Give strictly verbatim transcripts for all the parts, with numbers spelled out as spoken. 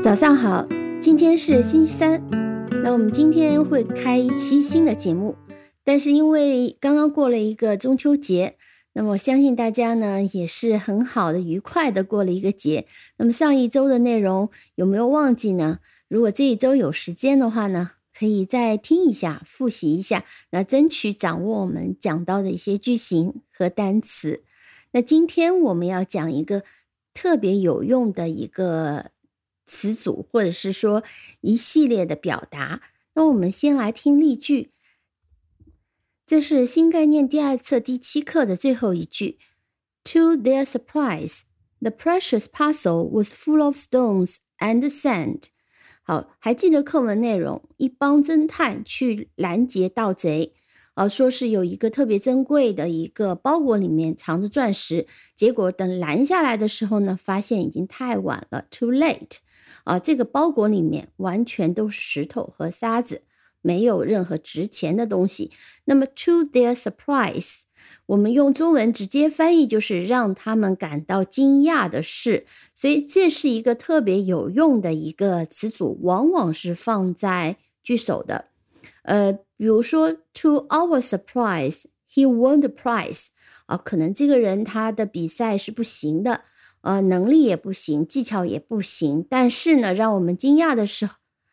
早上好，今天是星期三，那我们今天会开一期新的节目，但是因为刚刚过了一个中秋节，那么我相信大家呢也是很好的愉快的过了一个节。那么上一周的内容有没有忘记呢？如果这一周有时间的话呢，可以再听一下，复习一下，那争取掌握我们讲到的一些句型和单词。那今天我们要讲一个特别有用的一个词组，或者是说一系列的表达。那我们先来听例句，这是新概念第二册第七课的最后一句。To their surprise, the precious parcel was full of stones and sand. 好，还记得课文内容，一帮侦探去拦截盗贼，呃，说是有一个特别珍贵的一个包裹里面藏着钻石，结果等拦下来的时候呢，发现已经太晚了 too late。啊，这个包裹里面完全都是石头和沙子，没有任何值钱的东西。那么 to their surprise， 我们用中文直接翻译就是让他们感到惊讶的是，所以这是一个特别有用的一个词组，往往是放在句首的。呃，比如说 to our surprise, he won the prize。啊，可能这个人他的比赛是不行的。呃，能力也不行，技巧也不行，但是呢，让我们惊讶的是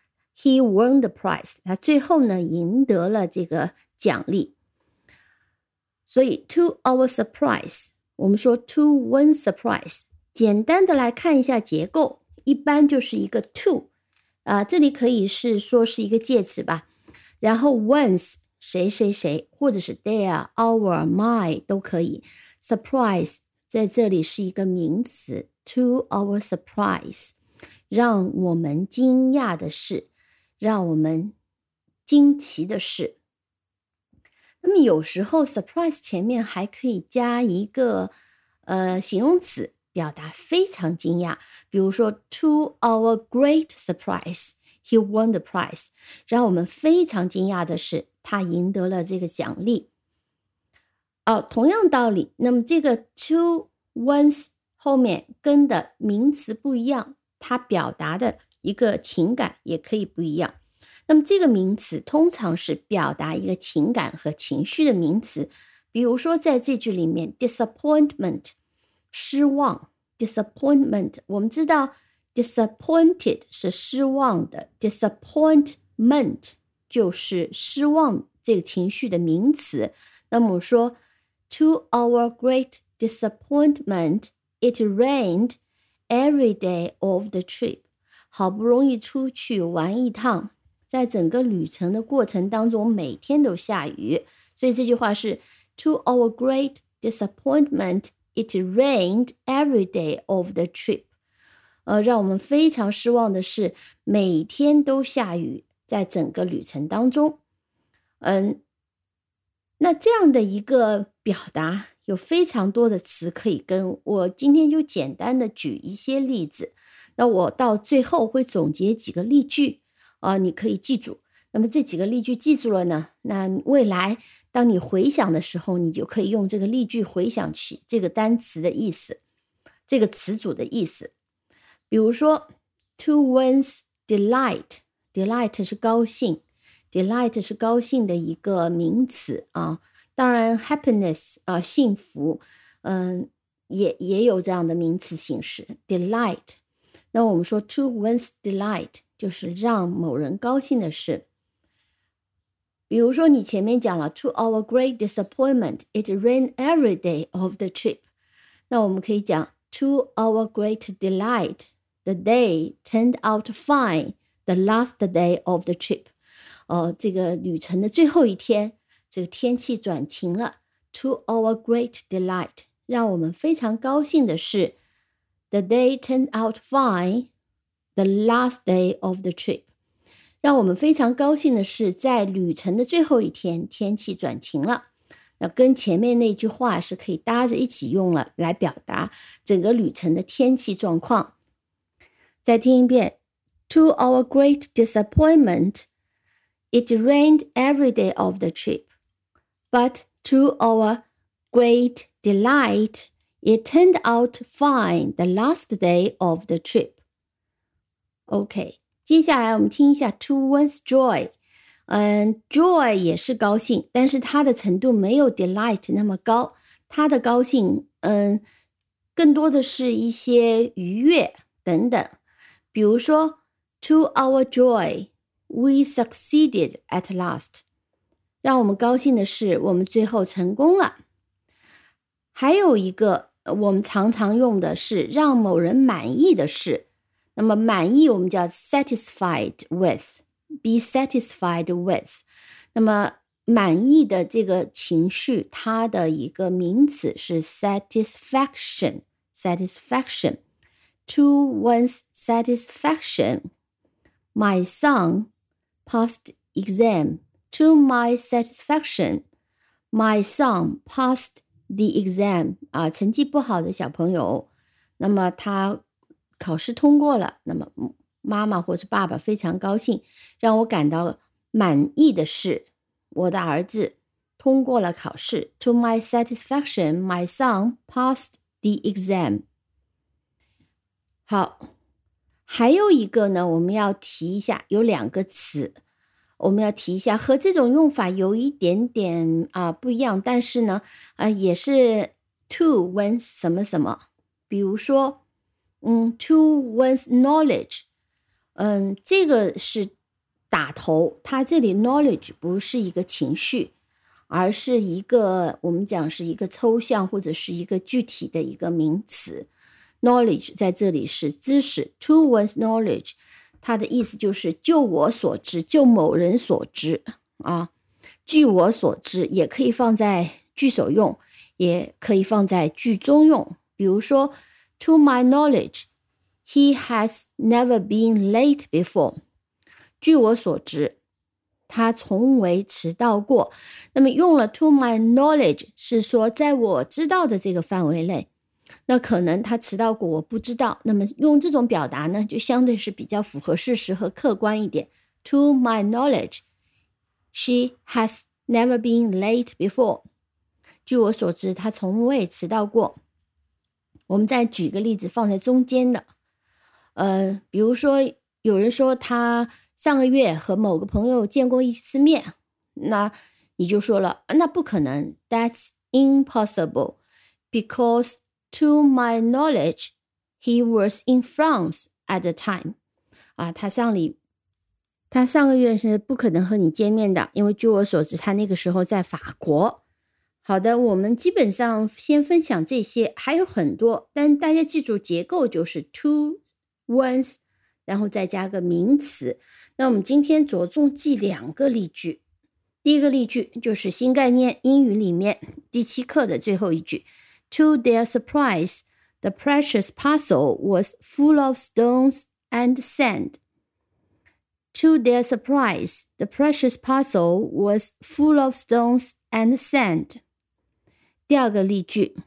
he won the prize， 他最后呢赢得了这个奖励。所以 to our surprise， 我们说 to win surprise， 简单的来看一下结构，一般就是一个 to， 啊、呃，这里可以是说是一个介词吧，然后 one's 谁谁谁，或者是 their our my 都可以。 surprise在这里是一个名词 to our surprise， 让我们惊讶的是，让我们惊奇的是。那么有时候 surprise 前面还可以加一个呃形容词，表达非常惊讶，比如说 to our great surprise he won the prize， 让我们非常惊讶的是他赢得了这个奖励。哦，同样道理，那么这个 to one's 后面跟的名词不一样，它表达的一个情感也可以不一样。那么这个名词通常是表达一个情感和情绪的名词，比如说在这句里面 disappointment 失望 disappointment， 我们知道 disappointed 是失望的， disappointment 就是失望这个情绪的名词。那么我说To our great disappointment, it rained every day of the trip. 好不容易出去玩一趟，在整个旅程的过程当中，每天都下雨。所以这句话是 To our great disappointment, it rained every day of the trip. 呃，让我们非常失望的是，每天都下雨，在整个旅程当中。嗯。那这样的一个表达有非常多的词可以跟，我今天就简单的举一些例子，那我到最后会总结几个例句啊，你可以记住。那么这几个例句记住了呢，那未来当你回想的时候，你就可以用这个例句回想起这个单词的意思，这个词组的意思。比如说 to one's delight， delight 是高兴，Delight 是高兴的一个名词啊，当然 happiness 啊，幸福，嗯，也也有这样的名词形式 delight。那我们说 to one's delight 就是让某人高兴的事。比如说你前面讲了 to our great disappointment, it rained every day of the trip。那我们可以讲 to our great delight, the day turned out fine, the last day of the trip。呃，这个旅程的最后一天，这个天气转晴了 To our great delight， 让我们非常高兴的是 The day turned out fine, the last day of the trip， 让我们非常高兴的是在旅程的最后一天，天气转晴了。那跟前面那句话是可以搭着一起用了，来表达整个旅程的天气状况。再听一遍 To our great disappointment，It rained every day of the trip, but to our great delight, it turned out fine the last day of the trip. OK， 接下来我们听一下 to one's joy。嗯 ，joy 也是高兴，但是它的程度没有 delight 那么高。它的高兴，嗯，更多的是一些愉悦等等。比如说 to our joy, we succeeded at last。让我们高兴的是，我们最后成功了。还有一个我们常常用的是让某人满意的事。那么满意我们叫 satisfied with。Be satisfied with。 那么满意的这个情绪，它的一个名词是 satisfaction。 satisfaction To one's satisfaction, my son passed exam. To my satisfaction, my son passed the exam. 啊，成绩不好的小朋友，那么他考试通过了，那么妈妈或是爸爸非常高兴。让我感到满意的是，我的儿子通过了考试。To my satisfaction, my son passed the exam。 好，还有一个呢，我们要提一下，有两个词我们要提一下，和这种用法有一点点啊、呃、不一样，但是呢啊、呃、也是 to one's 什么什么。比如说嗯 to one's knowledge， 嗯，这个是打头，它这里 knowledge 不是一个情绪，而是一个我们讲是一个抽象或者是一个具体的一个名词。knowledge 在这里是知识。 to one's knowledge 它的意思就是就我所知，就某人所知啊。据我所知也可以放在句首用，也可以放在句中用。比如说 to my knowledge he has never been late before。 据我所知他从未迟到过。那么用了 to my knowledge 是说在我知道的这个范围内，那可能他迟到过我不知道，那么用这种表达呢就相对是比较符合事实和客观一点。 To my knowledge she has never been late before。 据我所知他从未迟到过。我们再举个例子放在中间的，呃，比如说有人说他上个月和某个朋友见过一次面，那你就说了那不可能， That's impossible because to my knowledge he was in France at the time。 啊，他上里他上个月是不可能和你见面的，因为据我所知他那个时候在法国。好的，我们基本上先分享这些，还有很多，但大家记住结构就是 to one's 然后再加个名词。那我们今天着重记两个例句。第一个例句就是新概念英语里面第七课的最后一句。 To their surprise, the precious parcel was full of stones and sand. To their surprise, the precious parcel was full of stones and sand. 第二个例句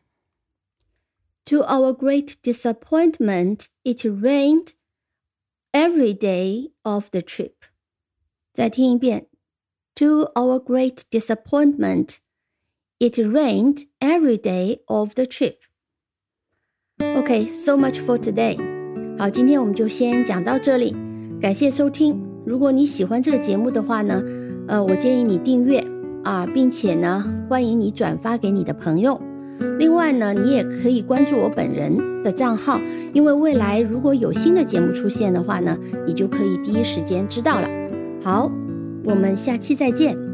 To our great disappointment, it rained every day of the trip. 再听一遍 To our great disappointment, it rained every day of the trip. Okay, so much for today. 好，今天我们就先讲到这里，感谢收听。如果你喜欢这个节目的话呢，呃，我建议你订阅啊，并且呢，欢迎你转发给你的朋友。另外呢，你也可以关注我本人的账号，因为未来如果有新的节目出现的话呢，你就可以第一时间知道了。好，我们下期再见。